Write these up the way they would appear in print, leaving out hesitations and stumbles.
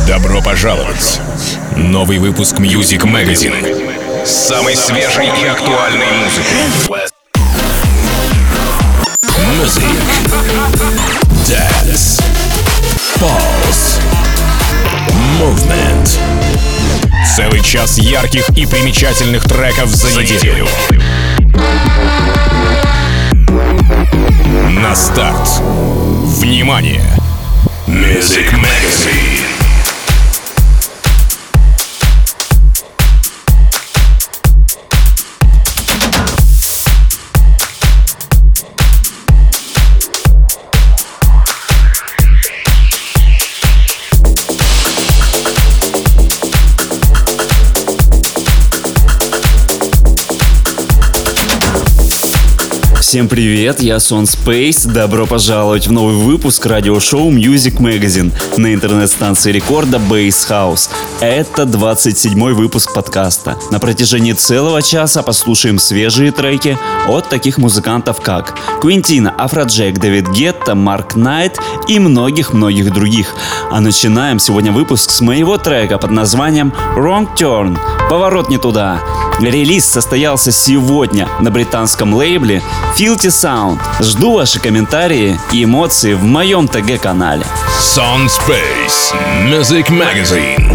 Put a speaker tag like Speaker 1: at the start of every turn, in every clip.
Speaker 1: Добро пожаловать! Новый выпуск Music Magazine с самой свежей и актуальной музыкой. Music, Dance, Pulse, Movement. Целый час ярких и примечательных треков за неделю. На старт. Внимание! Music Magazine.
Speaker 2: Всем привет, я Сон Space. Добро пожаловать в новый выпуск радиошоу Music Magazine на интернет-станции рекорда Bass House. Это 27-й выпуск подкаста. На протяжении целого часа послушаем свежие треки от таких музыкантов, как Квинтина, Афроджек, Дэвид Гетта, Марк Найт и многих-многих других. А начинаем сегодня выпуск с моего трека под названием Wrong Turn. Поворот не туда. Релиз состоялся сегодня на британском лейбле Filthy Sound. Жду ваши комментарии и эмоции в моем ТГ-канале.
Speaker 1: Сон Space Music Magazine.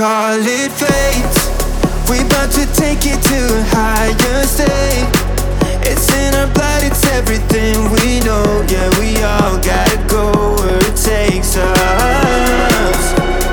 Speaker 3: call it fate. We about to take it to a higher state. It's in our blood, it's everything we know. Yeah, we all gotta go where it takes us.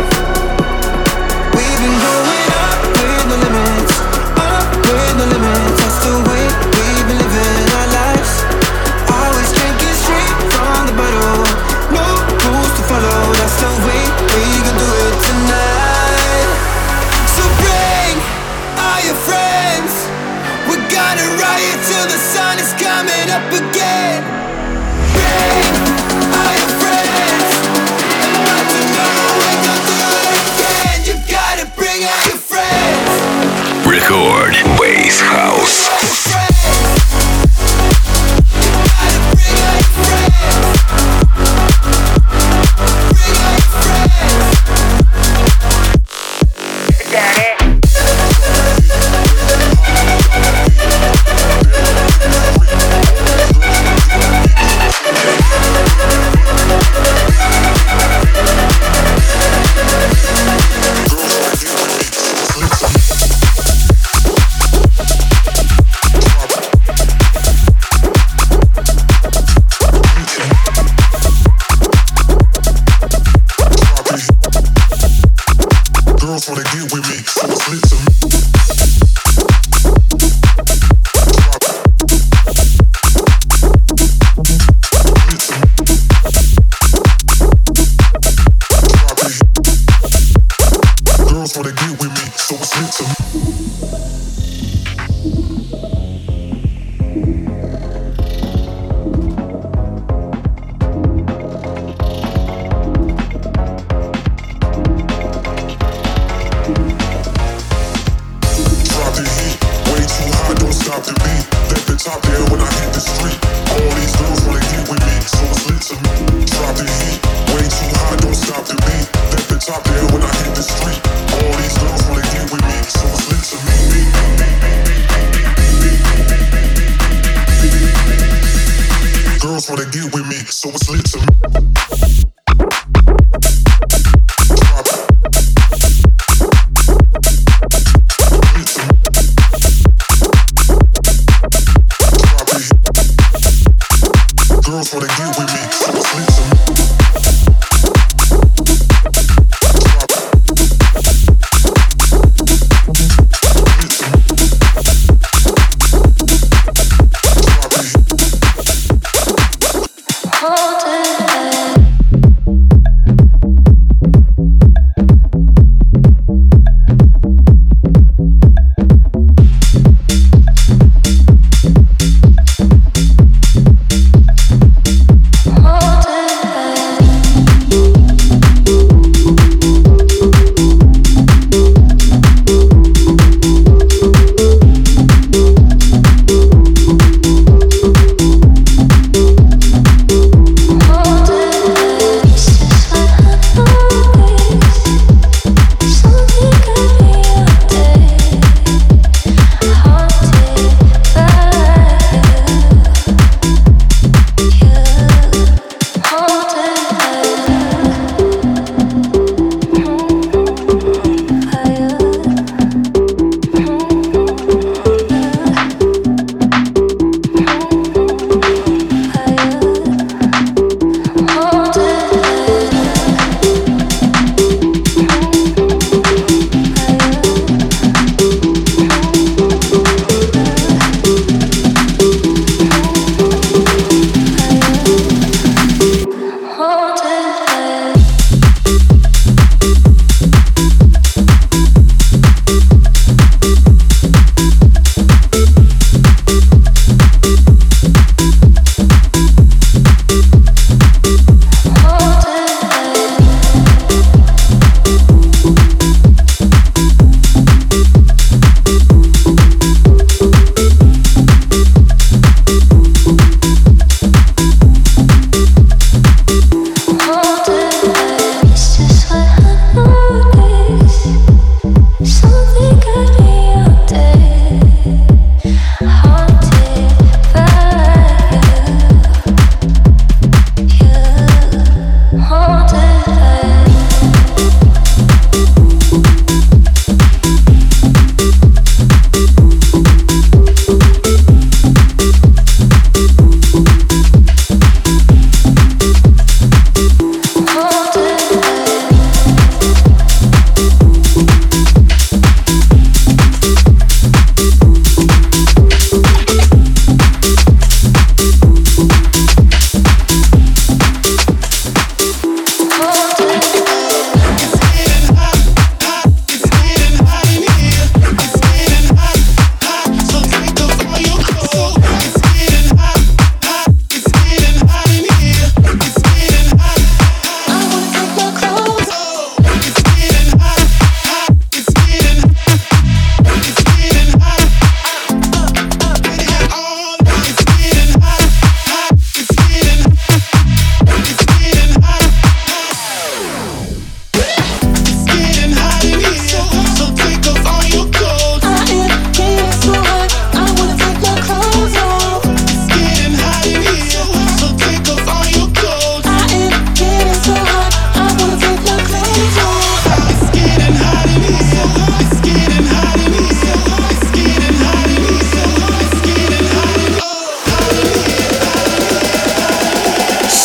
Speaker 3: We've been going up with no limits, up with no limits. That's the way we've been living our lives. Always drinking straight from the bottle, no rules to follow. That's the way we gon' do it tonight. So bring all your friends. We're gonna riot till the sun is coming up again. Bring all your friends. And by tomorrow we're gonna do it again. You gotta bring all your friends.
Speaker 1: Record Bass House.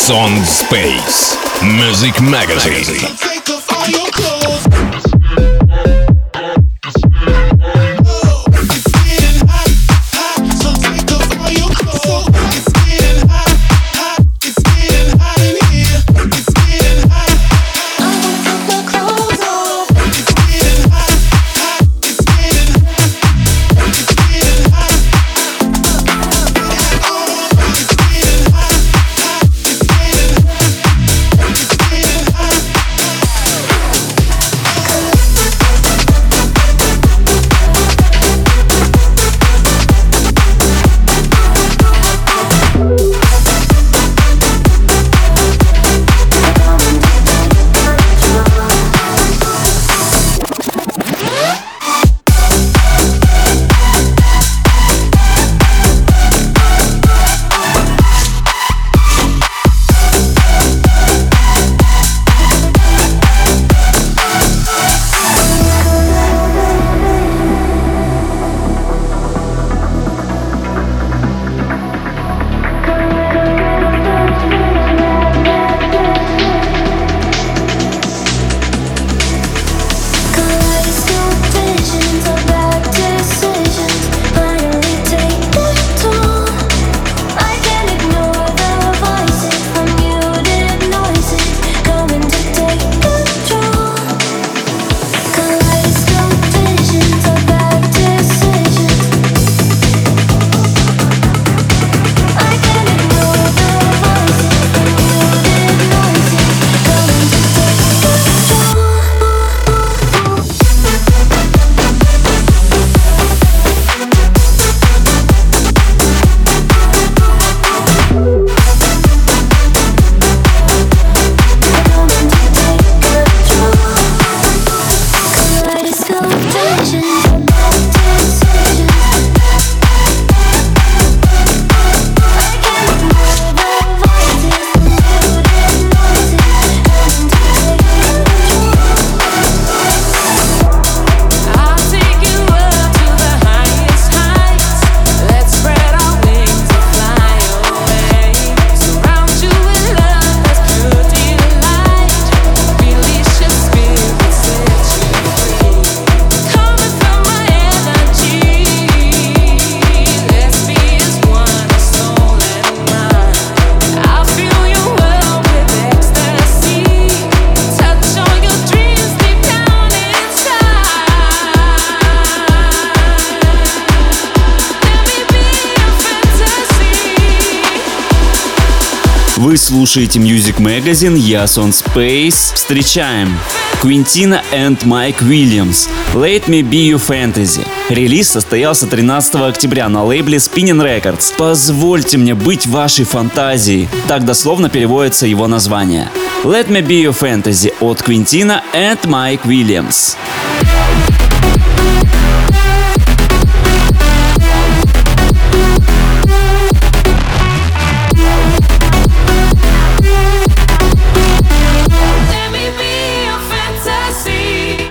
Speaker 1: Son Space Music Magazine.
Speaker 4: Take off all your clothes. It's getting hot, hot. So take off all your clothes. It's getting hot, hot. It's getting hot in here. It's getting hot. I want to take my clothes off. It's getting hot, hot. It's getting hot. It's getting hot. It's getting hot, hot. It's getting hot. It's getting hot.
Speaker 2: Вы слушаете Music Magazine, я Son Space. Встречаем Quintina and Mike Williams, Let Me Be Your Fantasy. Релиз состоялся 13 октября на лейбле Spinnin' Records. Позвольте мне быть вашей фантазией. Так дословно переводится его название. Let Me Be Your Fantasy от Quintina and Mike Williams.
Speaker 5: Let me be your fantasy.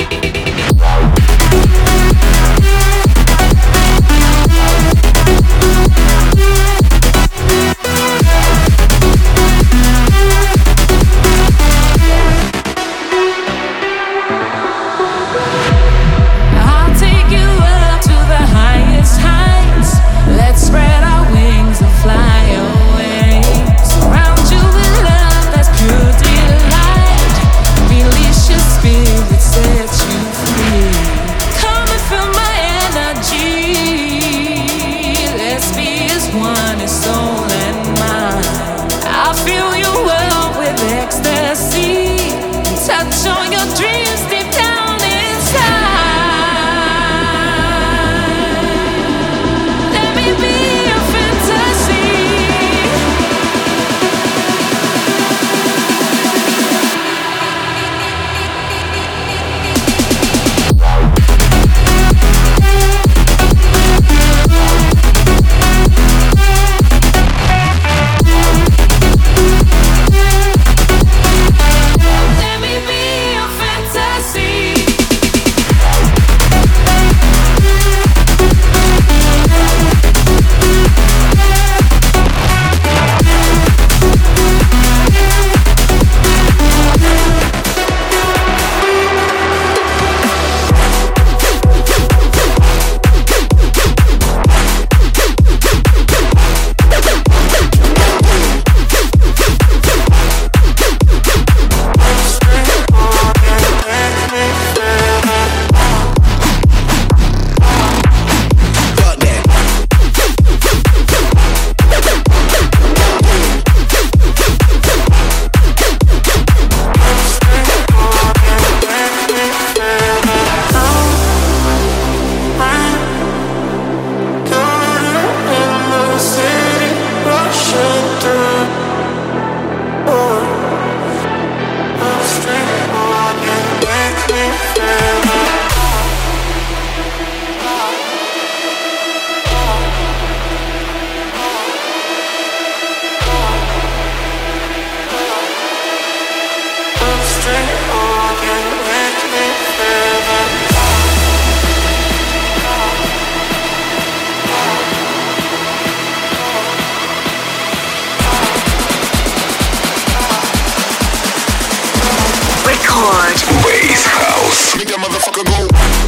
Speaker 5: Record.
Speaker 1: Bass House.
Speaker 4: Make that motherfucker go.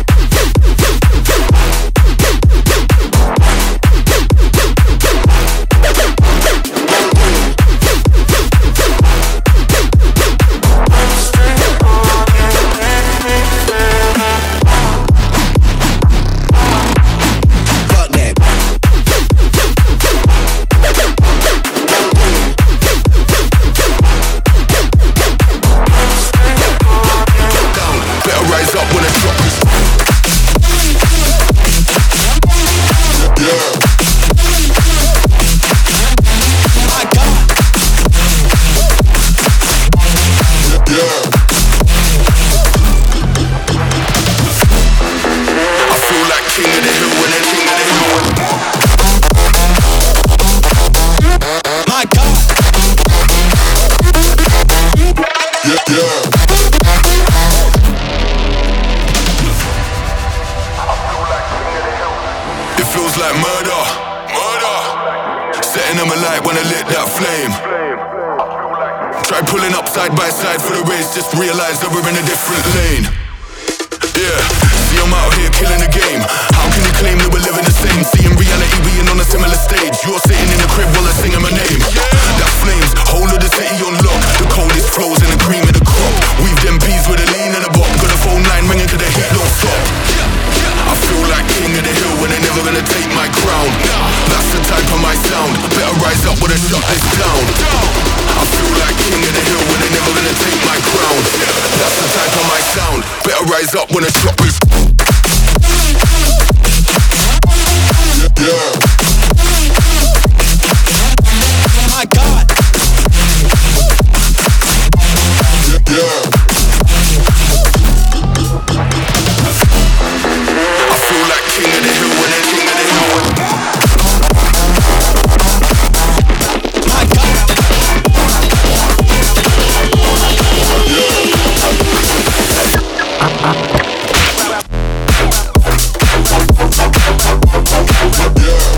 Speaker 4: Fuck that. Down. Better rise up when it's drop. Yeah. My God. Yeah. I feel like king of the hill when I'm king of the hill. My God. Yeah, yeah. It feels like murder, murder. Setting them alight when I lit that flame. Try pulling up side by side for the race, just realize that we're in a different lane. Yeah, see I'm out here killing the game. How can you claim that we're living the same? See in reality being on a similar stage. You're sitting in the crib while I'm singing my name. That flames, whole of the city on lock. The coldest flows and the cream of the crop. Weave them peas with a lean and a bop. Got a phone line ringing 'cause the heat don't stop. I feel like king of the hill when they're never gonna take my crown. That's the type of my sound. Better rise up when I shut this down. I feel like king of the hill when they're never gonna take my crown. That's the type of my sound. Better rise up when I shut this. Yeah. My God. Yeah. I feel like king of the hill when I'm king of the hill. My God. Yeah.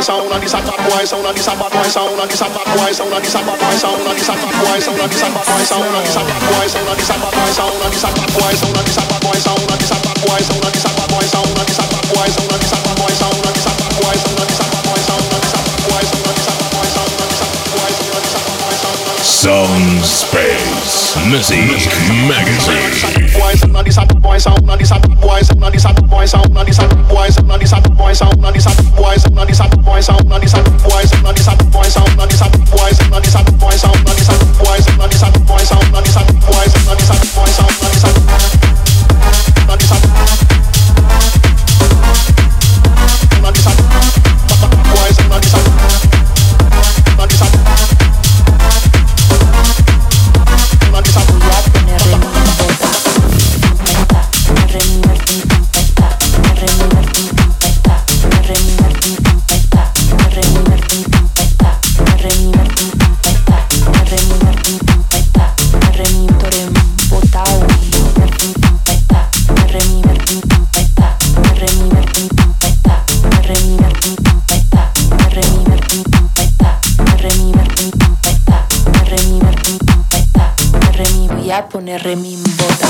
Speaker 1: Sound Space Music Magazine.
Speaker 6: Poner remi en bota.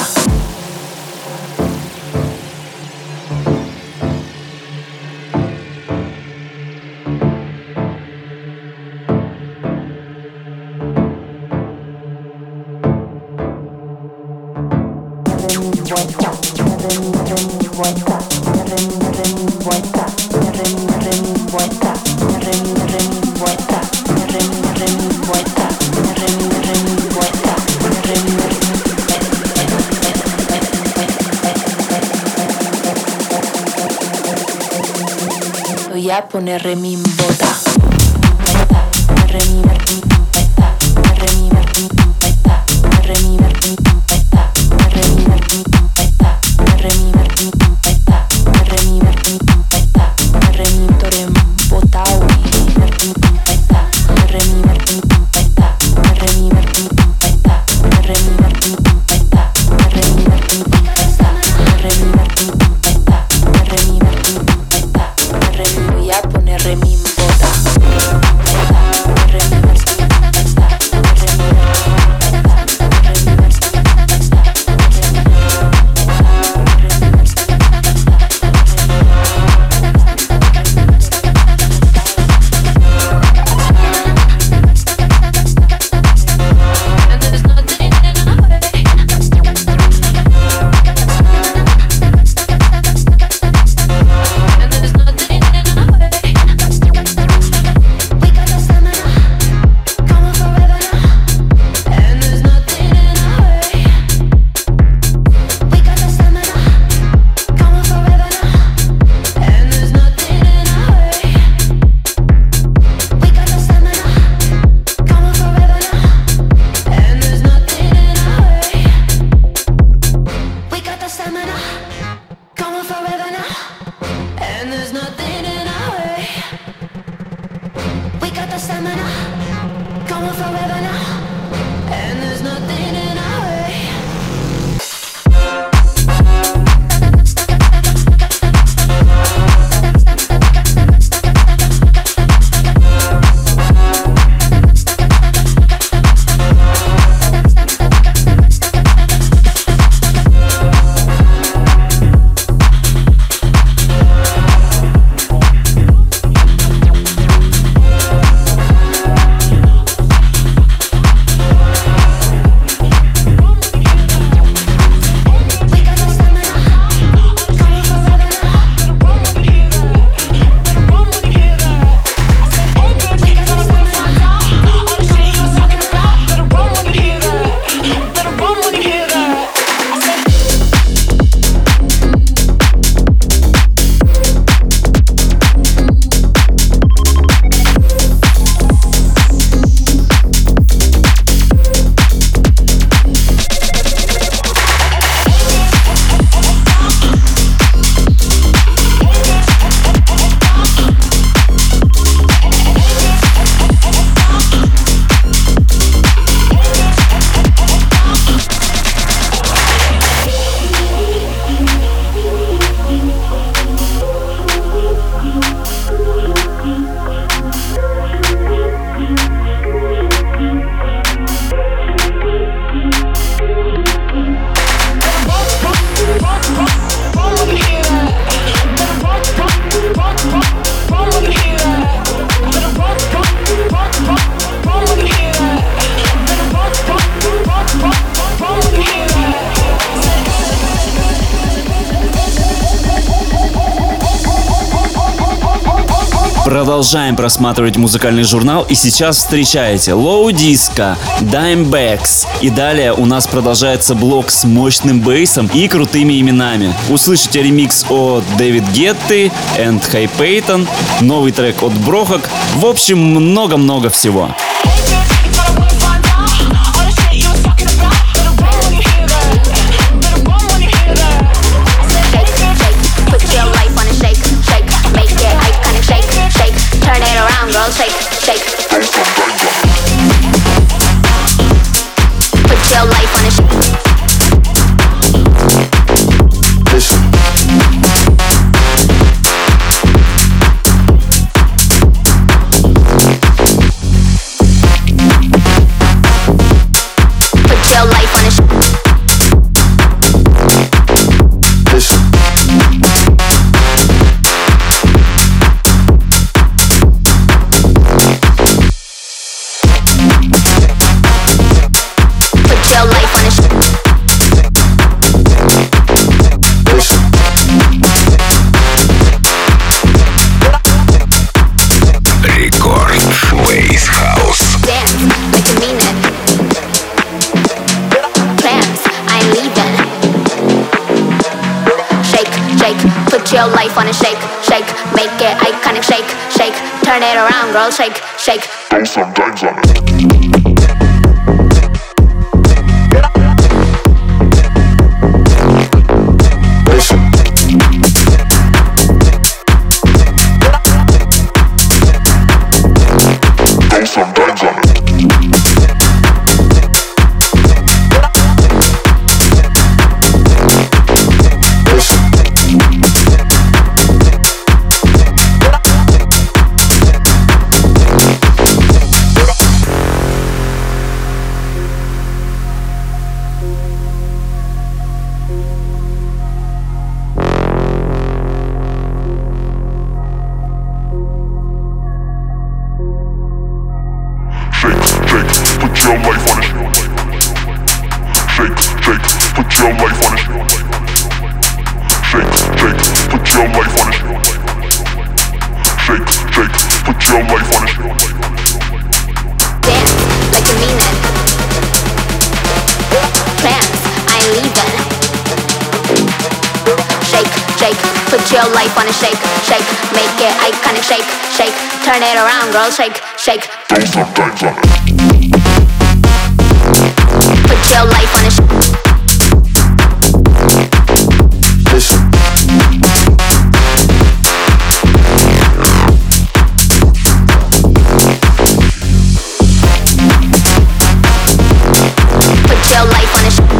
Speaker 6: Voy a poner remi en bota.
Speaker 2: Продолжаем просматривать музыкальный журнал, и сейчас встречаете Low Disco, Dimebacks. И далее у нас продолжается блок с мощным бейсом и крутыми именами. Услышите ремикс от Дэвид Гетты и Хай Пейтон, новый трек от Брохак. В общем, много-много всего.
Speaker 7: Turn it around, girl, shake, shake. Put your life on a shake. Put your life on a shake. Put your life on a shake, shake, make it iconic, shake, shake, turn it around, girl, shake, shake. Throw some dimes on it. Throw some dimes on it. Your life on a shake, shake, make it iconic, shake, shake, turn it around, girl, shake, shake. Throw some dimes on it. Put your life on a shake. Put your life on a shake.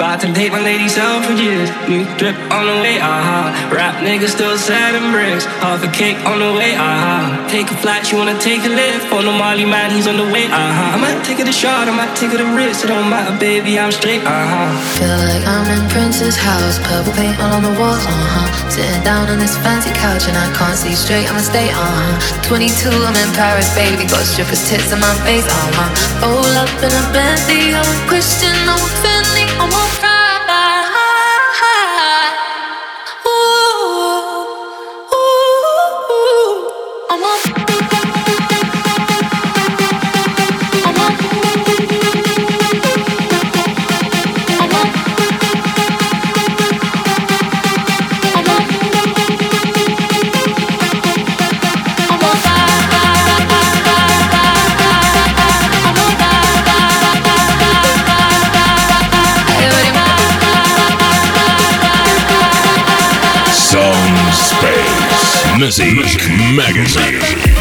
Speaker 8: About to date my lady self for years. New drip on the way, Rap niggas still selling bricks. Half a cake on the way, Take a flight, you wanna take a lift. On the Molly man, he's on the way, I might take it a shot, I might take it a risk. It don't matter, baby, I'm straight,
Speaker 9: Feel like I'm in Prince's house, purple paint all on the walls, Sitting down on this fancy couch and I can't see straight, I'ma stay, 22, I'm in Paris, baby, got strippers' tits in my face, Roll up in a Bentley, I'm a Christian, I'm a Fendi, I'm a ride. Ooh, ooh, I'm a
Speaker 1: Music Magazine.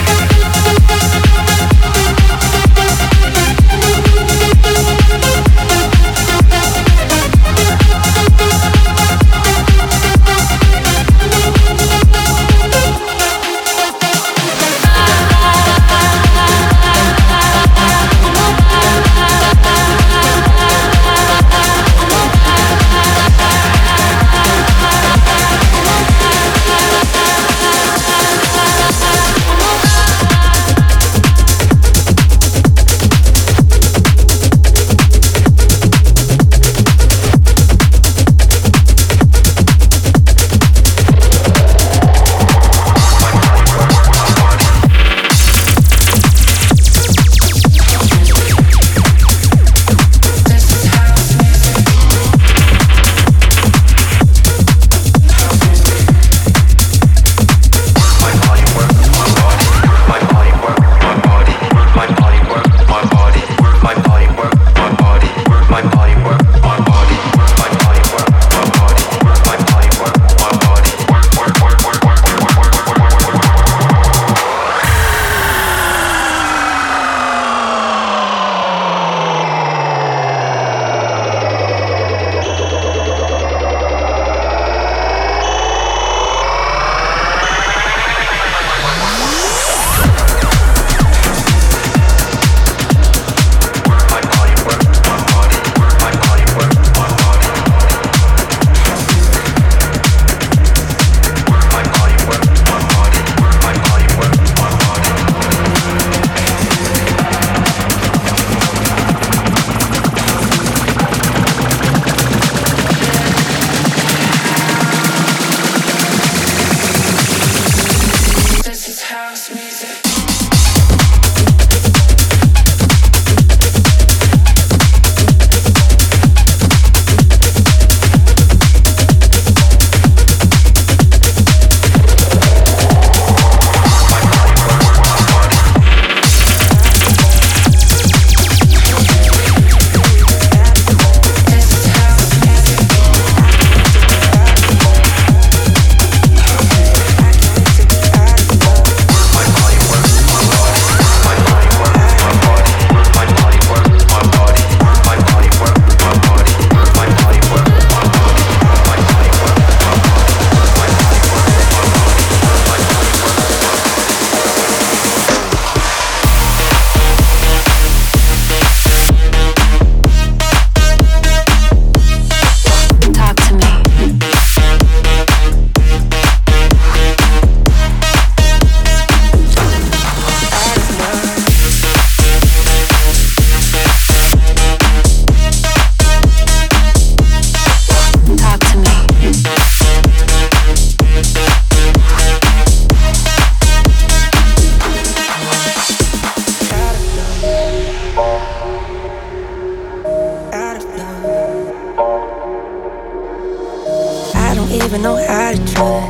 Speaker 10: even know how to trust.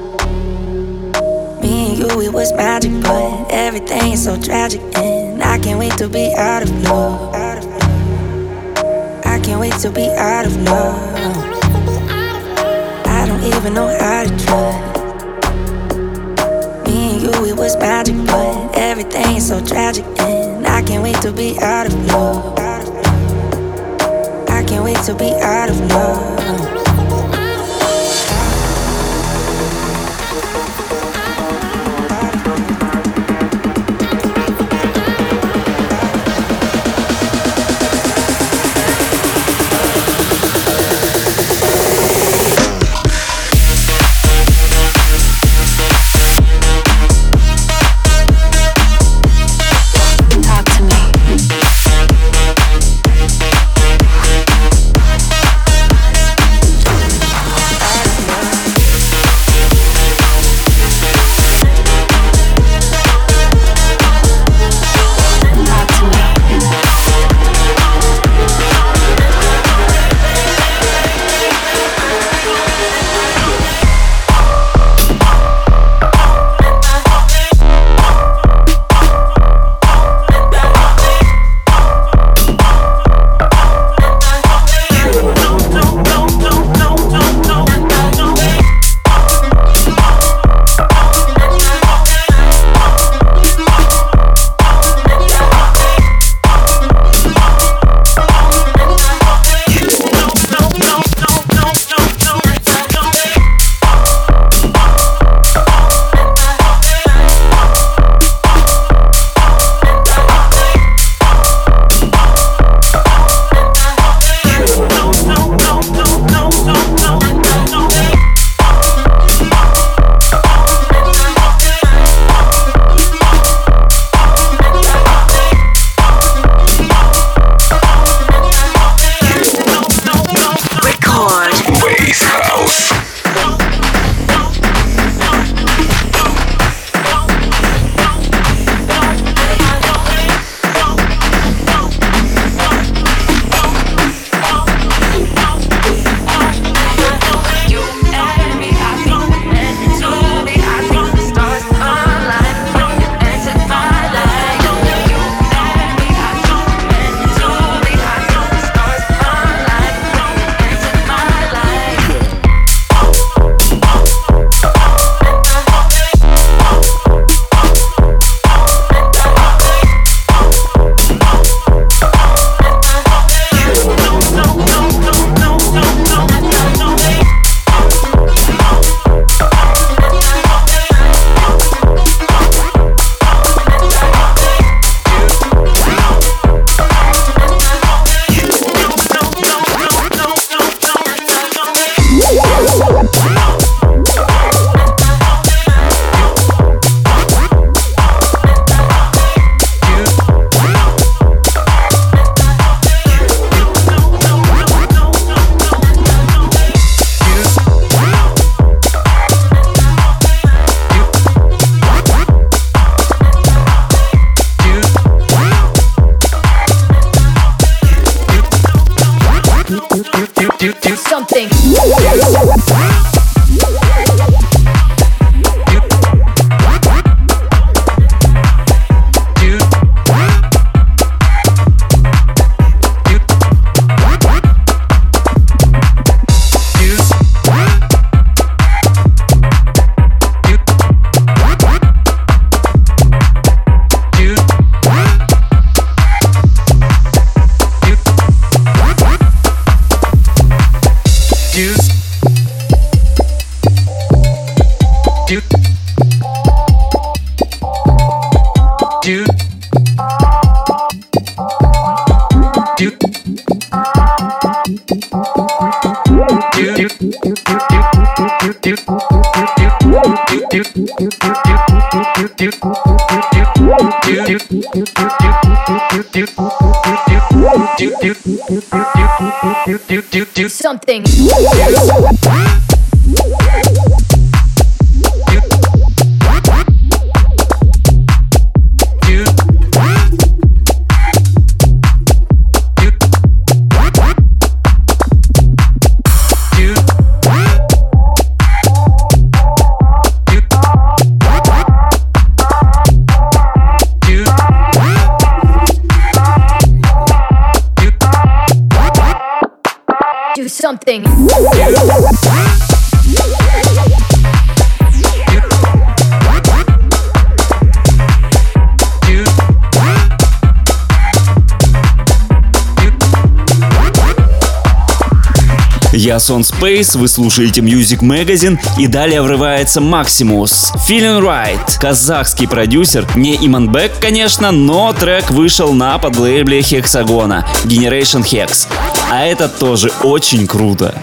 Speaker 10: Me and you, it was magic, but everything is so tragic, and I can't wait to be out of love. I can't wait to be out of love. I don't even know how to trust. Me and you, it was magic, but everything is so tragic, and I can't wait to be out of love. I can't wait to be out of love.
Speaker 6: Do something. Do something.
Speaker 2: Я Сон Space, вы слушаете Music Magazine, и далее врывается Maximus. Feeling Right. Казахский продюсер, не Иманбек, конечно, но трек вышел на подлейбле Hexagona Generation Hex. А это тоже очень круто.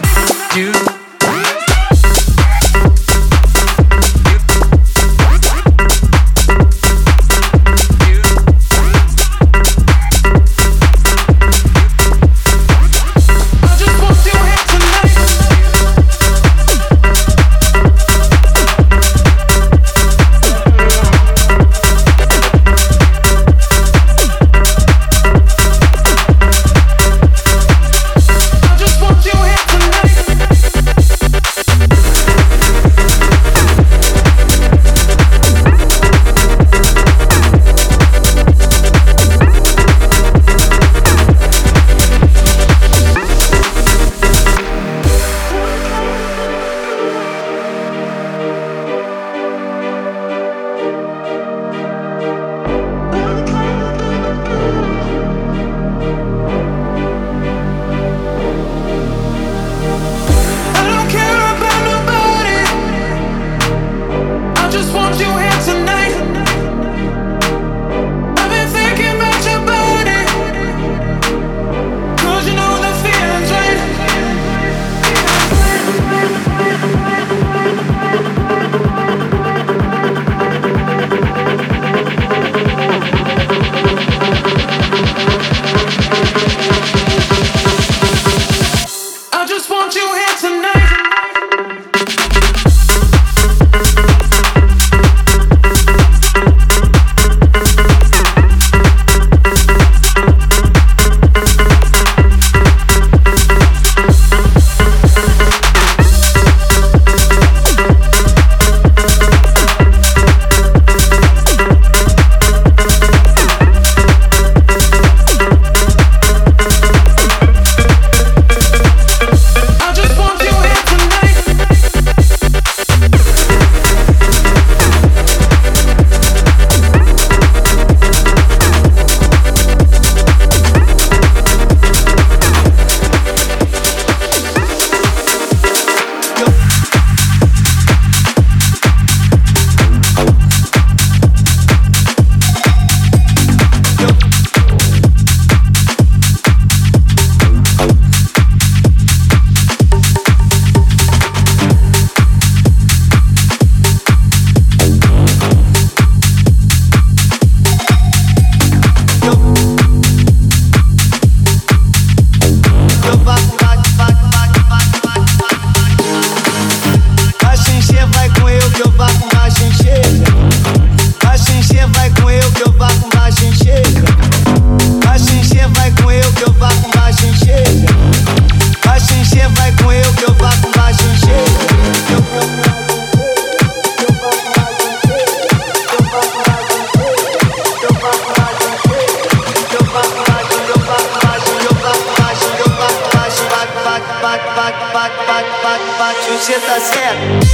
Speaker 11: Você tá certo.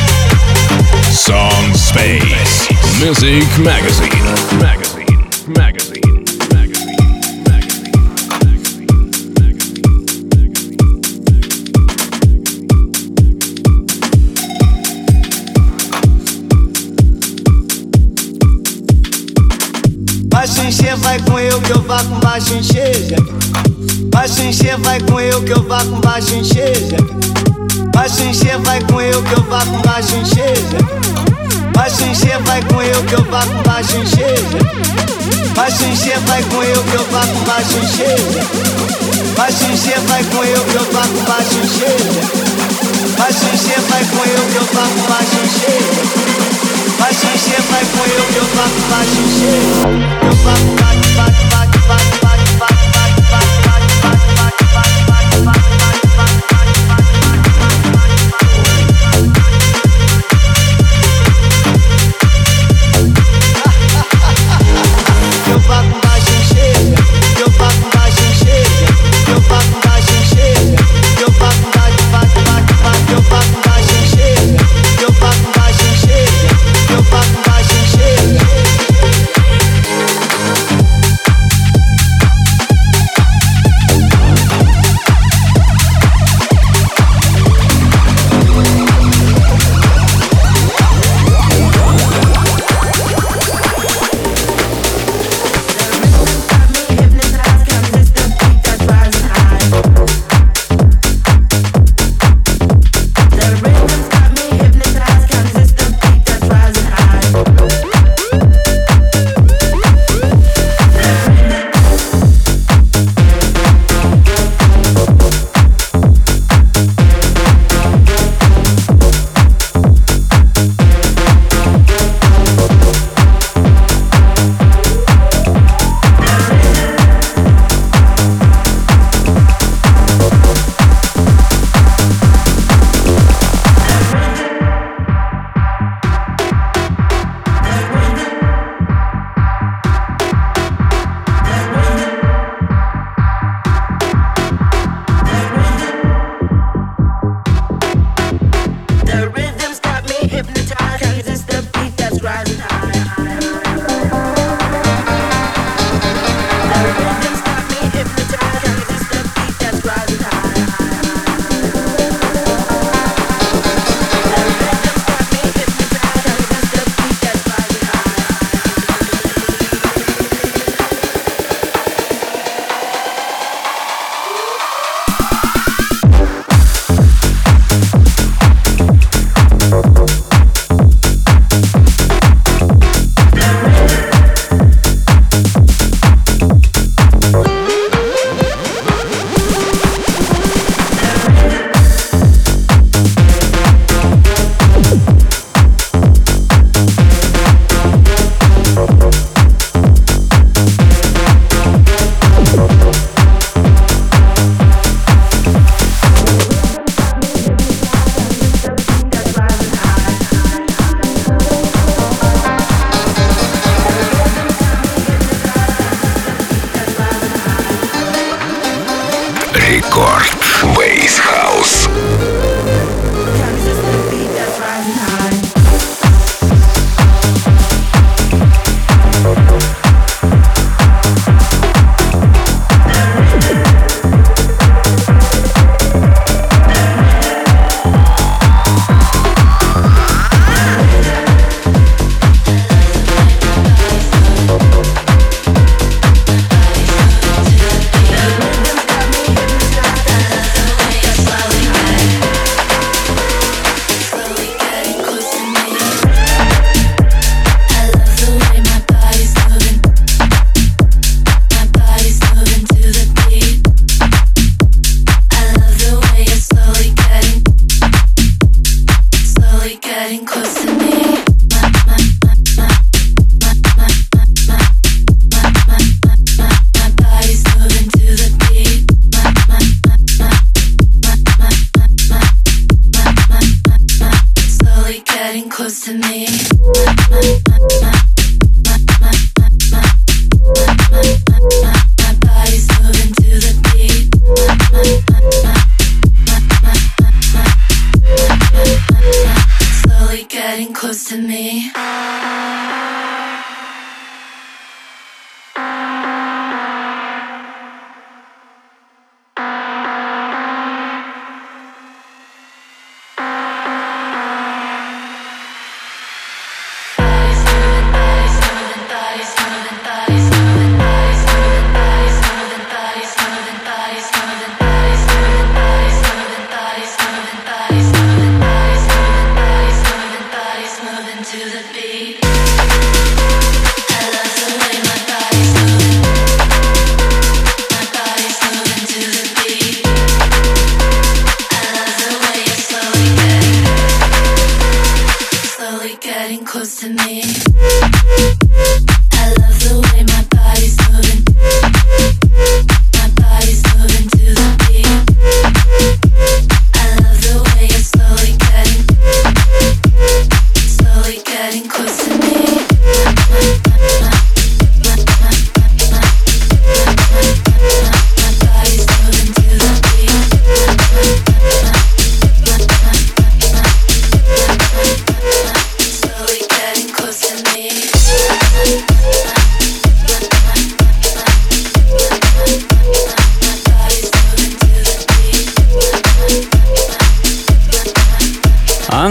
Speaker 1: Song Space Music Magazine.
Speaker 12: Baixo encher, vai com eu que eu vá com baixo encher. Baixo encher, vai com eu que eu vá com baixo encher. Baixo encher, vai com eu que eu vá com baixo encher. Baixo encher, vai com eu que eu vá com baixo encher. Baixo encher, vai com eu que eu vá com baixo encher. Baixo encher, vai com eu que eu vá com baixo encher. Baixo encher, vai com eu que eu vá com baixo encher. Baixo encher, vai com eu que eu vá com baixo encher. Eu vá com bate, bate, bate, bate, bate, bate, bate, bate, bate, bate, bate, bate, bate, bate, eu vá com baixo encher, eu vá com baixo encher, eu vá com baixo encher, eu vá com bate, bate, bate, bate, eu vá com baixo encher, eu vá com baixo encher, eu vá com baixo encher.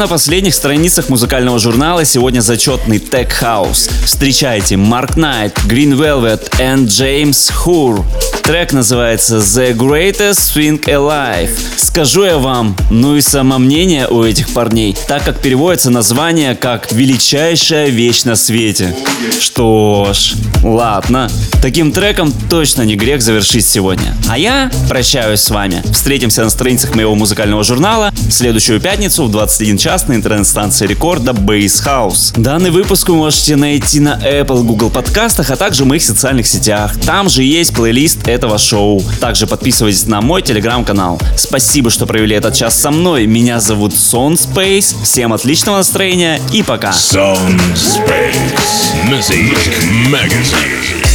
Speaker 2: на последних страницах музыкального журнала сегодня зачетный Tech House. Встречайте Mark Knight, Green Velvet and James Hour. Трек называется The Greatest Thing Alive. Скажу я вам, ну и самомнение у этих парней, так как переводится название как «Величайшая вещь на свете». Что ж, ладно. Таким треком точно не грех завершить сегодня. А я прощаюсь с вами. Встретимся на страницах моего музыкального журнала в следующую пятницу в 21 час на интернет-станции рекорда Bass House. Данный выпуск вы можете найти на Apple, Google подкастах, а также в моих социальных сетях. Там же есть плейлист этого шоу. Также подписывайтесь на мой телеграм-канал. Спасибо, что провели этот час со мной. Меня зовут Сон Space. Всем отличного настроения и пока.
Speaker 1: Sound Space Music Magazine.